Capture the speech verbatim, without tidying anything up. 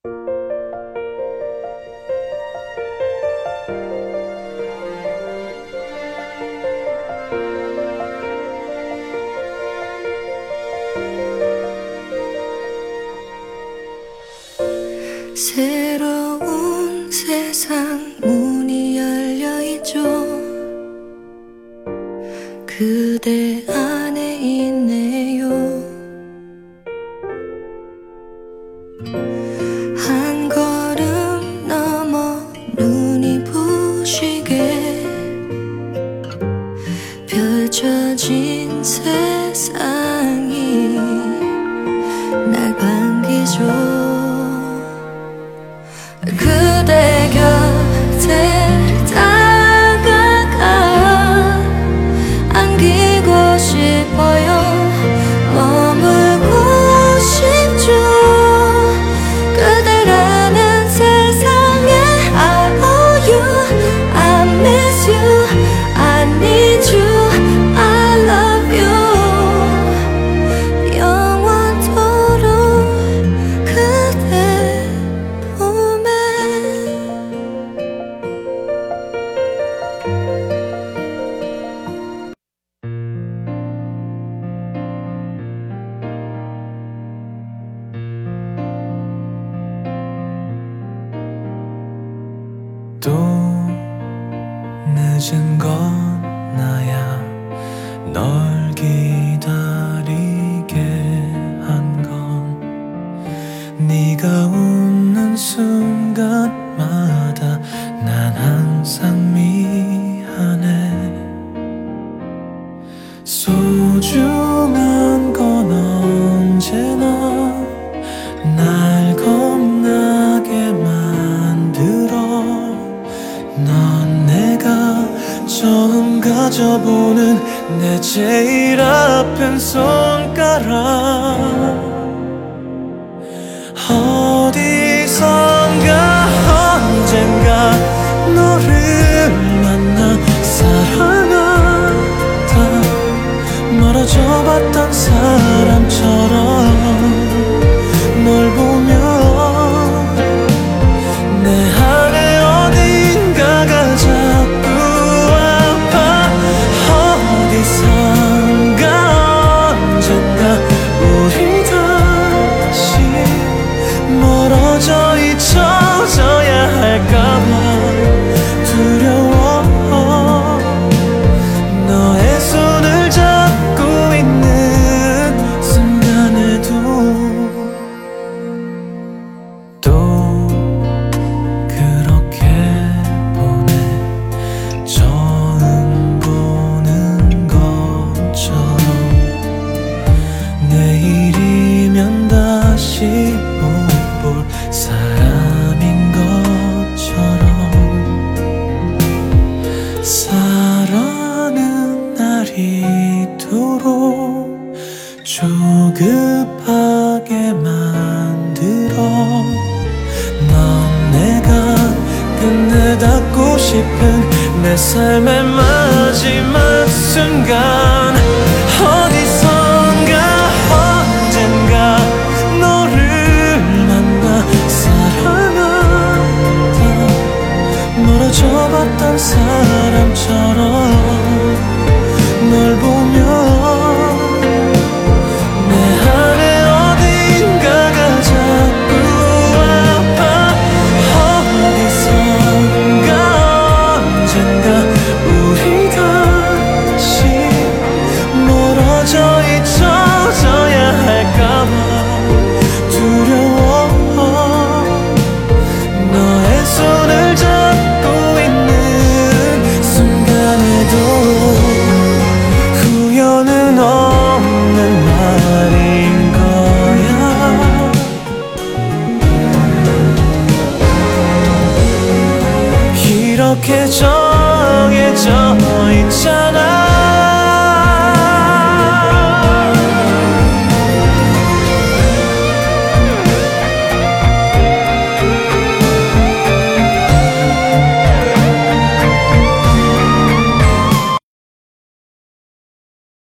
새로운 세상 문이 열려있죠. 그대 안에 있네요. 한 걸음 넘어 눈이 부시게 펼쳐진 세상이 날 반기죠. 그대 곁에 다가가 안기고 싶어요. 머물고 싶죠. 그대라는 세상에 I owe you, I miss you, I need you, I love you. 영원토록 그대 품에. 또 늦은 건 나야 널 기다리게 한 건 네가 웃는 순간마다 난 항상 미안해. 소중한 건 언제나 날 겁나게 만들어. 넌 내가 처음 가져보는 내 제일 아픈 손가락. 어디선가 언젠가 너를 만나 사랑하다 멀어져봤던 사람처럼 널 보며 내 안에 어딘가가 자꾸 아파. 어디선가 언젠가 우리 다시 멀어져 잊혀져야 할까봐 두려워. 너의 손을 잡고 있는 순간에도 또 그렇게 보내. 처음 보는 것처럼 내일이면 다시 못 볼 사람인 것처럼. 사랑은 날 이토록 조급하게 만들어. 넌 내가 끝내 닿고 싶은 내 삶의 마지막 순간. 어디선가 언젠가 너를 만나 사랑하다 멀어져봤던 사람처럼